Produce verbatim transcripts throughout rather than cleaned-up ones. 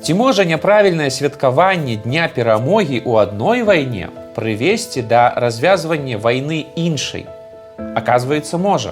Ці можа няправільнае святкаванне дня перамогі ў адной вайне прывесці да развязвання вайны іншай? Аказваецца, можа.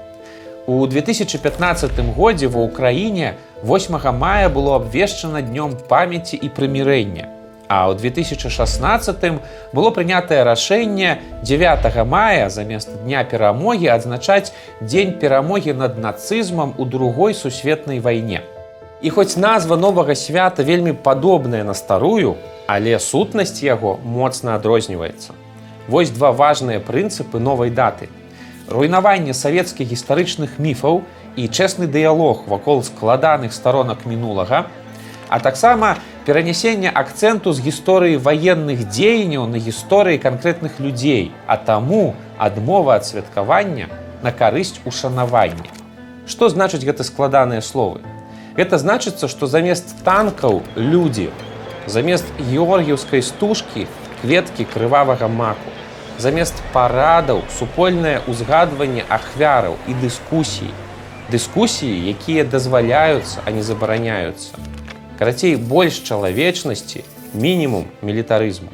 У две тысячи пятнадцатым годзе ва ўкраіне восьмага мая было абвешчана днём памяці і прымірэння, а ў две тысячи шаснаццатым было прынятае рашэнне дзевятага мая замест дня перамогі адзначаць дзень перамогі над нацызмам у другой сусветнай вайне. І хоць назва новага свята вельмі падобная на старую, але сутнасць яго моцна адрозніваецца. Вось два важныя прынцыпы новай даты. Руйнаванне савецкіх гістарычных міфаў і чэсны дыялог вакол складаных старонак мінулага, а таксама перанясенне акцэнту з гісторыі ваенных дзеянняў на гісторыі канкрэтных людзей, а таму адмова ад святкавання на карысць ушанавання. Што значыць гэты складаныя словы? Гэта значыцца, што замест танкаў людзі, замест георгіўскай стужкі кветкі крывавага маку, замест парадаў супольнае ўзгадванне ахвяраў і дыскусій. Дыскусіі, якія дазваляюцца, а не забараняюцца. Карацей, больш чалавечнасці, мінімум мілітарызму.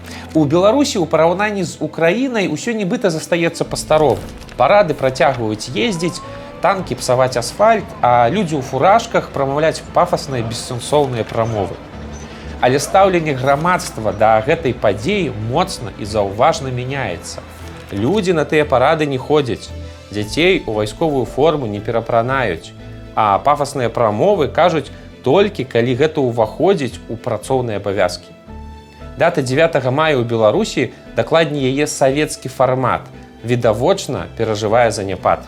У Беларусі ў параўнанні з Украінай усё нібыта застаецца па-старому. Парады працягваюць ездзіць, танкі псаваць асфальт, а людзі ў фуражках прамаўляць пафасныя бессэнсоўныя прамовы. Але стаўленне грамадства да гэтай падзеі моцна і заўважна мяняецца. Людзі на тыя парады не ходзяць, дзяцей у вайсковую форму не перапранаюць, а пафасныя прамовы кажуць толькі, калі гэта ўваходзіць у працоўныя абавязкі. Дата дзевятага мая ў Беларусі, дакладней яе савецкі фармат, відавочна перажывае заняпад.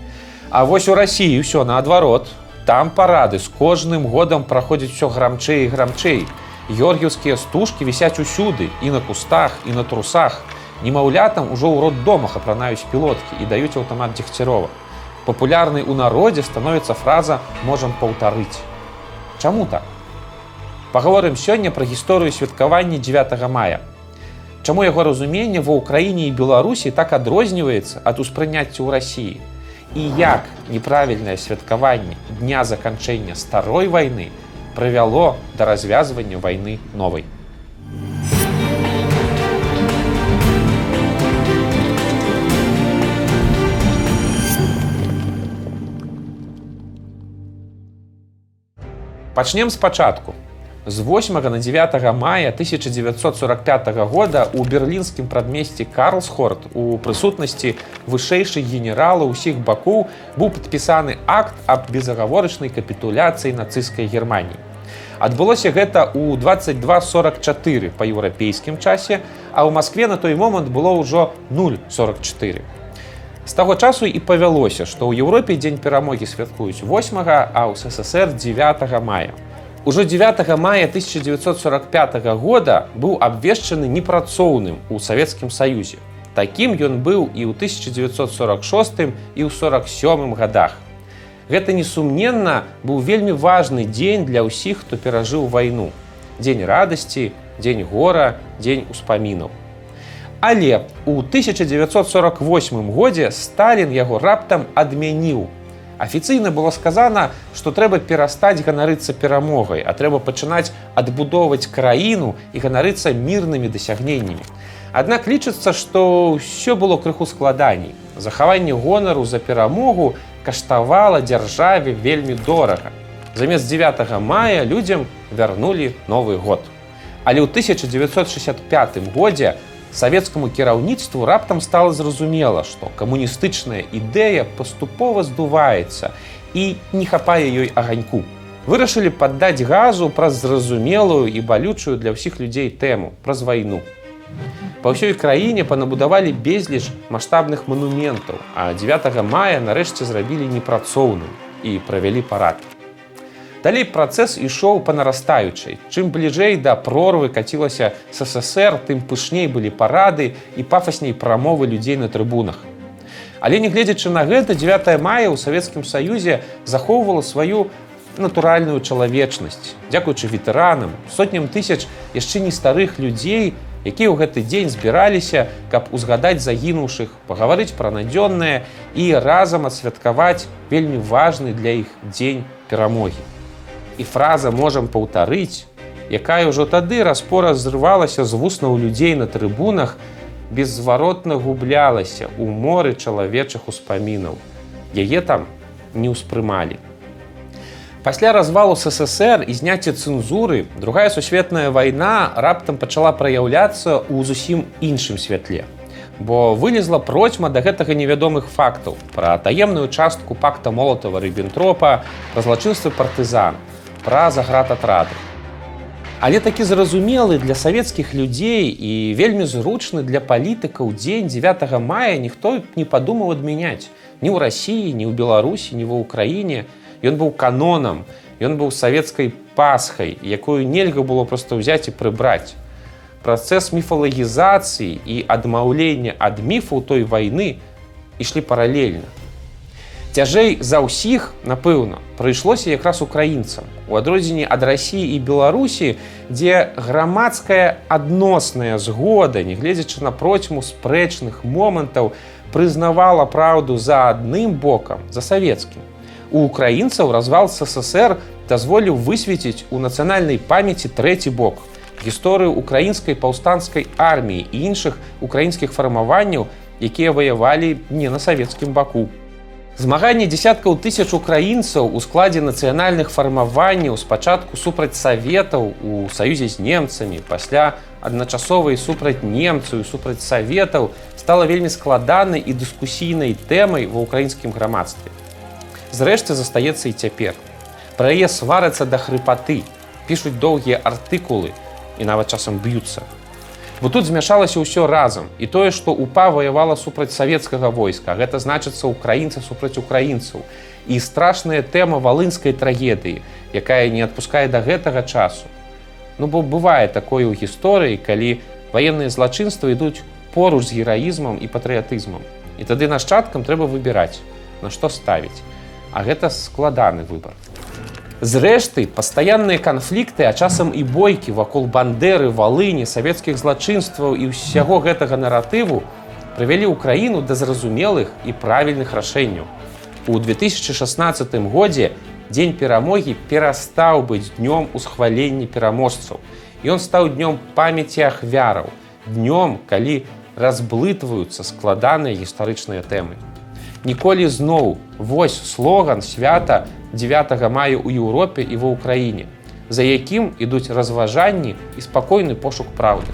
А вось у Расіі ўсё наадварот. Там парады з кожным годам праходзяць усё грамчэй і грамчэй. Георгіўскія стужкі вісяць усюды, і на кустах, і на трусах. Немаўлятам ужо ў роддомах апранаюць пілоткі і даюць аўтамат Дзегцярова. Папулярнай у народзе становіцца фраза «можам паўтарыць». Чаму так? Пагаворым сёння пра гісторыю святкавання дзевятага мая. Чаму яго разуменне ва ўкраіне і Беларусі так адрозніваецца ад успрыняцця ў Расіі? І як неправільнае святкаванне дня заканчэння старой вайны прывяло да развязвання вайны новай. Пачнем спачатку. З восьмага на дзевятага мая тысяча дзевяцьсот сорок пятага года ў берлінскім прадмесці Карлсхорт у прысутнасці вышэйшых генералаў усіх бакоў быў падпісаны акт аб безагаворачнай капітуляцыі нацысцкай Германіі. Адбылося гэта ў дваццаць два сорак чатыры па еўрапейскім часе, а ў Маскве на той момант было ўжо нуль сорак чатыры. З таго часу і павялося, што ў Еўропе дзень перамогі святкуюць восьмага, а ў СССР дзевятага мая. Ужо дзевятага мая тысяча дзевяцьсот сорак пятага года быў абвешчаны непрацоўным у Савецкім Саюзе. Такім ён быў і ў тысяча дзевяцьсот сорак шостым і ў сорак сёмым годах. Гэта, несумненна, быў вельмі важны дзень для ўсіх, хто перажыў вайну. Дзень радасці, дзень гора, дзень успамінаў. Але ў тысяча дзевяцьсот сорак восьмым годзе Сталін яго раптам адмяніў. Афіцыйна было сказана, што трэба перастаць ганарыцца перамогай, а трэба пачынаць адбудоўваць краіну і ганарыцца мірнымі дасягненнямі. Аднак лічыцца, што ўсё было крыху складаней. Захаванне гонару за перамогу каштавала дзяржаве вельмі дорага. Замест дзевятага мая людзям вярнулі Новы год. Але ў тысяча дзевяцьсот шэсцьдзесят пятым годзе савецкаму кіраўніцтву раптам стала зразумела, што камуністычная ідэя паступова здуваецца і не хапае ёй аганьку. Вырашылі паддаць газу праз зразумелую і балючую для ўсіх людзей тэму, праз вайну. Па ўсёй краіне панабудавалі безліч маштабных манументаў, а дзевятага мая нарэшце зрабілі непрацоўным і правялі парад. Далей працэс ішоў па нарастаючай. Чым бліжэй да прорвы кацілася СССР, тым пышней былі парады і пафасней прамовы людзей на трыбунах. Але нягледзячы на гэта, дзевятага мая ў Савецкім Саюзе захоўвала сваю натуральную чалавечнасць. Дзякуючы ветэранам, сотням тысяч яшчэ не старых людзей, якія ў гэты дзень збіраліся, каб узгадаць загінуўшых, пагаварыць пра надзённае і разам адсвяткаваць вельмі важны для іх дзень перамогі. І фраза «можам паўтарыць», якая ўжо тады распора зрывалася з вуснаў людзей на трыбунах, беззваротна гублялася ў моры чалавечых успамінаў. Яе там не ўспрымалі. Пасля развалу СССР і зняцця цэнзуры Другая сусветная вайна раптам пачала праяўляцца ў зусім іншым святле. Бо вылезла процьма да гэтага невядомых фактаў пра таемную частку пакта Молатава-Ріббентропа, пра злачынствы партызан, пра заградатрады. Але такі зразумелы для савецкіх людзей і вельмі зручны для палітыкаў дзень дзевятага мая ніхто не падумаў адмяняць. Ні ў Расіі, ні ў Беларусі, ні ва ўкраіне. Ён быў канонам, ён быў савецкай пасхай, якую нельга было проста ўзяць і прыбраць. Працэс міфалагізацыі і адмаўлення ад міфаў той вайны ішлі паралельна. Цяжэй за ўсіх, напэўна, прыйшлося якраз украінцам. У адрозненні ад Расіі і Беларусі, дзе грамадская адносная згода, нягледзячы на процьму спрэчных момантаў, прызнавала праўду за адным бокам, за савецкім. У украінцаў развал СССР дазволіў высветіць у нацыянальнай памяці трэці бок – гісторыю украінскай паўстанцкай арміі і іншых украінскіх фармаванняў, якія ваявалі не на савецкім баку. Змаганне дзесяткаў тысяч украінцаў у складзе нацыянальных фармаванняў спачатку супраць саветаў у саюзе з немцамі, пасля адначасовай супраць немцаў і супраць саветаў стала вельмі складанай і дыскусійнай тэмай ва ўкраінскім грамадстве. Зрэшты, застаецца і цяпер. Пра яе сварацца да хрыпаты, пішуць доўгія артыкулы і нават часам б'юцца. Бо тут змяшалася ўсё разам. І тое, што УПА ваявала супраць савецкага войска, гэта значыцца украінцы супраць украінцаў. І страшная тэма валынскай трагедыі, якая не адпускае да гэтага часу. Ну бо бывае такое ў гісторыі, калі ваенныя злачынствы ідуць поруч з гераізмам і патрыятызмам. І тады нашчадкам трэба выбіраць, на што ставіць. А гэта складаны выбар. Зрэшты, пастаянныя канфлікты, а часам і бойкі вакол Бандэры, Валыні, савецкіх злачынстваў і ўсяго гэтага наратыву прывялі ўкраіну да зразумелых і правільных рашэнняў. У две тысячы шаснаццатым годзе Дзень перамогі перастаў быць днём усхвалення пераможцаў. Ён стаў днём памяці ахвяраў, днём, калі разблытваюцца складаныя гістарычныя тэмы. Ніколі зноў вось слоган свята дзевятага мая ў Еўропе і ва ўкраіне, за якім ідуць разважанні і спакойны пошук праўды.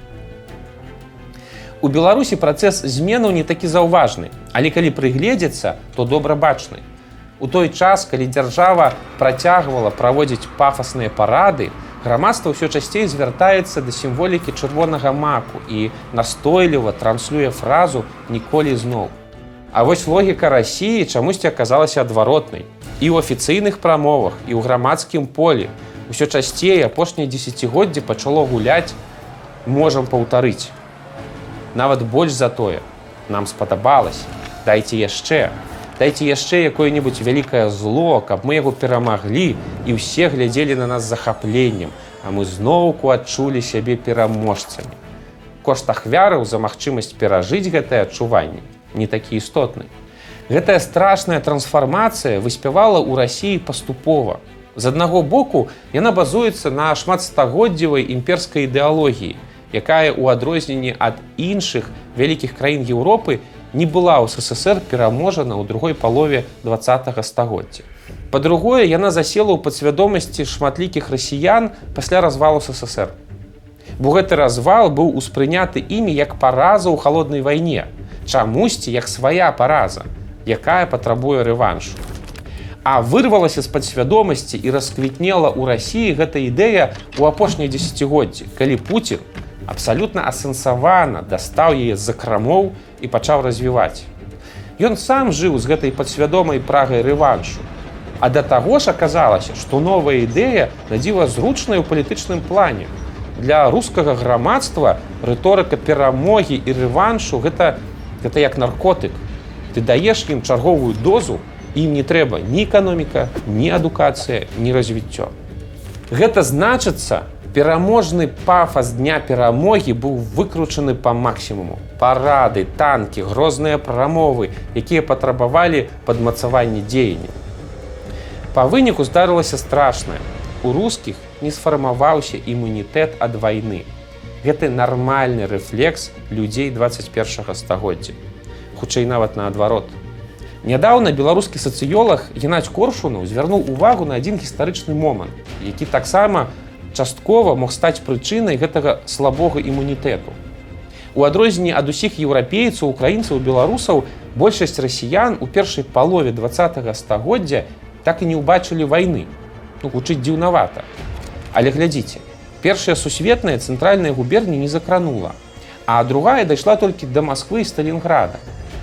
У Беларусі працэс зменаў не такі заўважны, але калі прыгледзецца, то добра бачны. У той час, калі дзяржава працягвала праводзіць пафасныя парады, грамадства ўсё часцей звяртаецца да сімволікі чырвонага маку і настойліва транслюе фразу «ніколі зноў». А вось логіка Расіі чамусьці аказалася адваротнай. І ў афіцыйных прамовах, і ў грамадскім полі ўсё часцей апошняе дзесяцігоддзе пачало гуляць «можам паўтарыць». Нават больш за тое. Нам спадабалася. Дайце яшчэ. Дайце яшчэ якое-небудзь вялікае зло, каб мы яго перамаглі і ўсе глядзелі на нас з захапленнем, а мы зноўку адчулі сябе пераможцамі. Кошт ахвяраў за магчымасць перажыць гэтае адчуванне не такі істотны. Гэтая страшная трансфармацыя выспявала ў Расіі паступова. З аднаго боку, яна базуецца на шматстагоддзевай імперскай ідэалогіі, якая ў адрозненні ад іншых вялікіх краін Еўропы не была ў СССР пераможана ў другой палове дваццатага стагоддзя. Па-другое, яна засела ў падсвядомасці шматлікіх расіян пасля развалу СССР. Бо гэты развал быў успрыняты імі як параза ў халоднай вайне, чамусьці як свая параза, якая патрабуе рэваншу. А вырвалася з падсвядомасці і расквітнела ў Расіі гэта ідэя ў апошняе дзесяцігоддзе, калі Пуцін абсалютна асэнсавана дастаў яе з-за крамоў і пачаў развіваць. Ён сам жыў з гэтай падсвядомай прагай рэваншу. А да таго ж аказалася, што новая ідэя надзіва зручная ў палітычным плане. Для рускага грамадства рыторыка перамогі і рэваншу гэта, гэта як наркотык. Ты даеш ім чарговую дозу, ім не трэба ні эканоміка, ні адукацыя, ні развіццё. Гэта значыцца, пераможны пафас дня перамогі быў выкручаны па максімуму. Парады, танкі, грозныя прамовы, якія патрабавалі падмацавання дзеяння. Па выніку здарылася страшнае. У рускіх не сфармаваўся імунітэт ад вайны. Гэта нармальны рэфлекс людзей дваццаць першага стагоддзя. Хутчэй нават наадварот. Нядаўна беларускі сацыёлаг Геннадзь Коршунаў звярнуў увагу на адзін гістарычны момант, які таксама часткова мог стаць прычынай гэтага слабога імунітэту. У адрозненні ад усіх еўрапейцаў, украінцаў, беларусаў, большасць расіян у першай палове дваццатага стагоддзя так і не ўбачылі вайны. Ну, гучыць дзіўнавата. Але глядзіце, першая сусветная цэнтральная губерня не закранула, а другая дайшла толькі да Масквы і Сталінграда.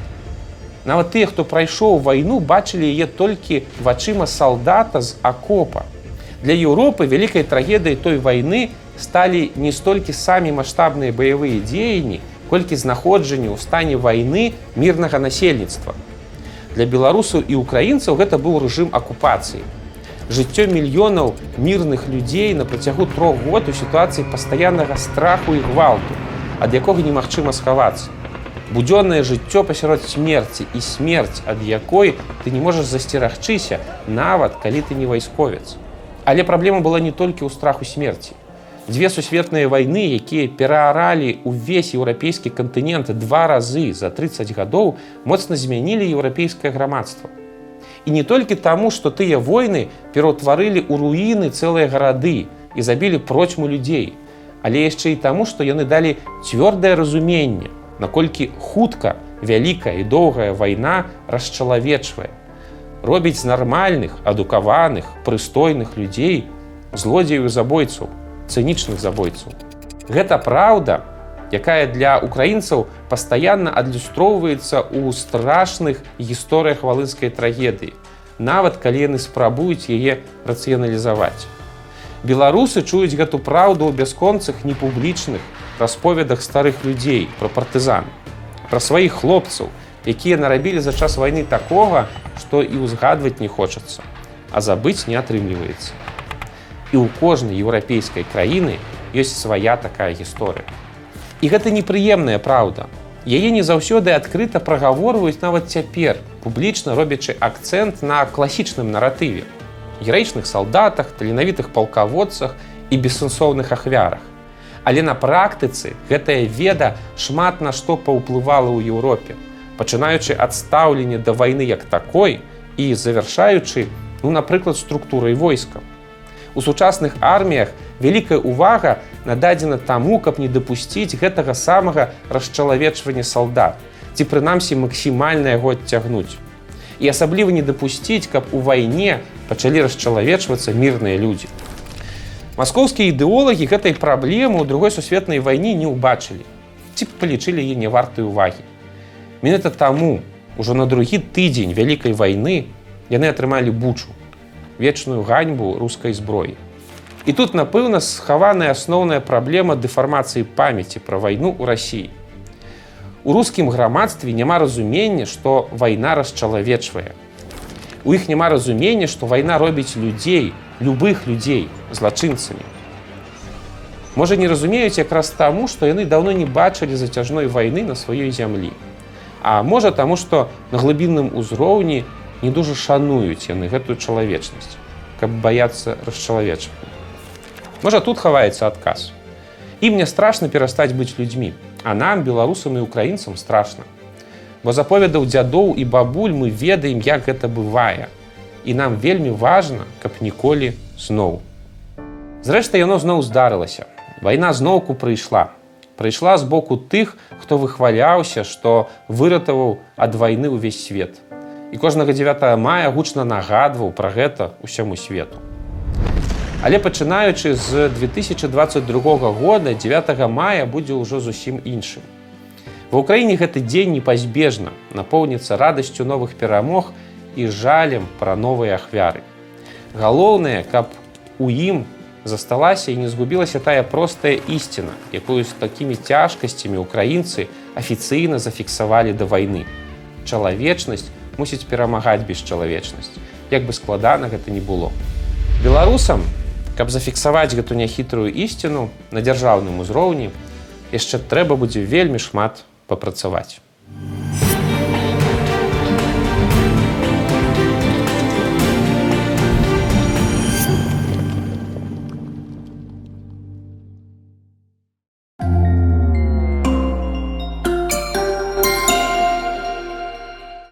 Нават тыя, хто прайшоў вайну, бачылі яе толькі вачыма салдата з акопа. Для Еўропы вялікай трагедыяй той вайны сталі не столькі самі маштабныя баявыя дзеянні, колькі знаходжанне ў стане вайны мірнага насельніцтва. Для беларусаў і украінцаў гэта быў рэжым акупацыі. Жыццё мільёнаў мірных людзей на працягу трох год у сітуацыі пастаяннага страху і гвалту, ад якога немагчыма схавацца. Будзённае жыццё пасярод смерці і смерць, ад якой ты не можаш засцерагчыся, нават калі ты не вайсковец. Але праблема была не толькі ў страху смерці. Дзве сусветныя вайны, якія перааралі ўвесь еўрапейскі кантынент два разы за трыццаць гадоў, моцна змянілі еўрапейскае грамадства. І не толькі таму, што тыя войны пераўтварылі ў руіны цэлыя гарады і забілі процьму людзей, але яшчэ і таму, што яны далі цвёрдае разуменне, наколькі хутка вялікая і доўгая вайна расчалавечвае, робіць з нармальных, адукаваных, прыстойных людзей злодзеяў і забойцаў, цынічных забойцаў. Гэта праўда, якая для украінцаў пастаянна адлюстроўваецца ў страшных гісторыях валынскай трагедыі, нават калі яны спрабуюць яе рацыяналізаваць. Беларусы чуюць гэту праўду ў бясконцых непублічных расповедах старых людзей пра партызан, пра сваіх хлопцаў, якія нарабілі за час вайны такога, што і ўзгадваць не хочацца, а забыць не атрымліваецца. І ў кожнай еўрапейскай краіны ёсць свая такая гісторыя. І гэта непрыемная праўда. Яе не заўсёды адкрыта прагаворваюць нават цяпер, публічна робячы акцэнт на класічным наратыве, гераічных салдатах, таленавітых палкаводцах і бессэнсоўных ахвярах. Але на практыцы гэтая веда шмат на што паўплывала ў Еўропе, пачынаючы ад стаўлення да вайны як такой і завяршаючы, ну, напрыклад, структурай войска. У сучасных арміях вялікая ўвага нададзена таму, каб не дапусціць гэтага самага расчалавечвання салдат, ці прынамсі максімальна яго адцягнуць. І асабліва не дапусціць, каб у вайне пачалі расчалавечвацца мірныя людзі. Маскоўскія ідэолагі гэтай праблемы ў другой сусветнай вайне не ўбачылі, ці палічылі яе не вартай увагі. Менавіта таму ўжо на другі тыдзень вялікай вайны яны атрымалі Бучу, вечную ганьбу рускай зброі. І тут, напэўна, схаваная асноўная праблема дэфармацыі памяці пра вайну ў Расіі. У рускім грамадстве няма разумення, што вайна расчалавечвае. У іх няма разумення, што вайна робіць людзей, любых людзей, злачынцамі. Можа, не разумеюць якраз таму, што яны даўно не бачылі зацяжной вайны на сваёй зямлі. А можа, таму, што на глыбінным узроўні не дужа шануюць яны гэтую чалавечнасць, каб баяцца расчалавечвання. Можа, тут хаваецца адказ. Ім не страшна перастаць быць людзьмі, а нам, беларусам і украінцам, страшна. Бо з аповедаў дзядоў і бабуль мы ведаем, як гэта бывае. І нам вельмі важна, каб ніколі зноў. Зрэшты, яно зноў здарылася. Вайна зноўку прыйшла. Прыйшла з боку тых, хто выхваляўся, што выратаваў ад вайны ўвесь свет. І кожнага дзевятага мая гучна нагадваў пра гэта ўсяму свету. Але пачынаючы з две тысячы дваццаць другога года, дзевятага мая будзе ўжо зусім іншым. Ва ўкраіне гэты дзень непазбежна напоўніцца радасцю новых перамог і жалем пра новыя ахвяры. Галоўнае, каб у ім засталася і не згубілася тая простая ісціна, якую з такімі цяжкасцямі украінцы афіцыйна зафіксавалі да вайны. Чалавечнасць мусіць перамагаць бесчалавечнасць, як бы складана гэта не было. Беларусам, каб зафіксаваць гэту няхітрую ісціну на дзяржаўным узроўні, яшчэ трэба будзе вельмі шмат папрацаваць.